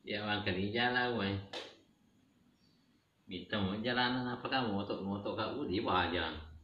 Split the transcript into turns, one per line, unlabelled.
Ya bang kali jalan weh. Minta mau jalanan apa kamu motok motok kau di bawah jalan.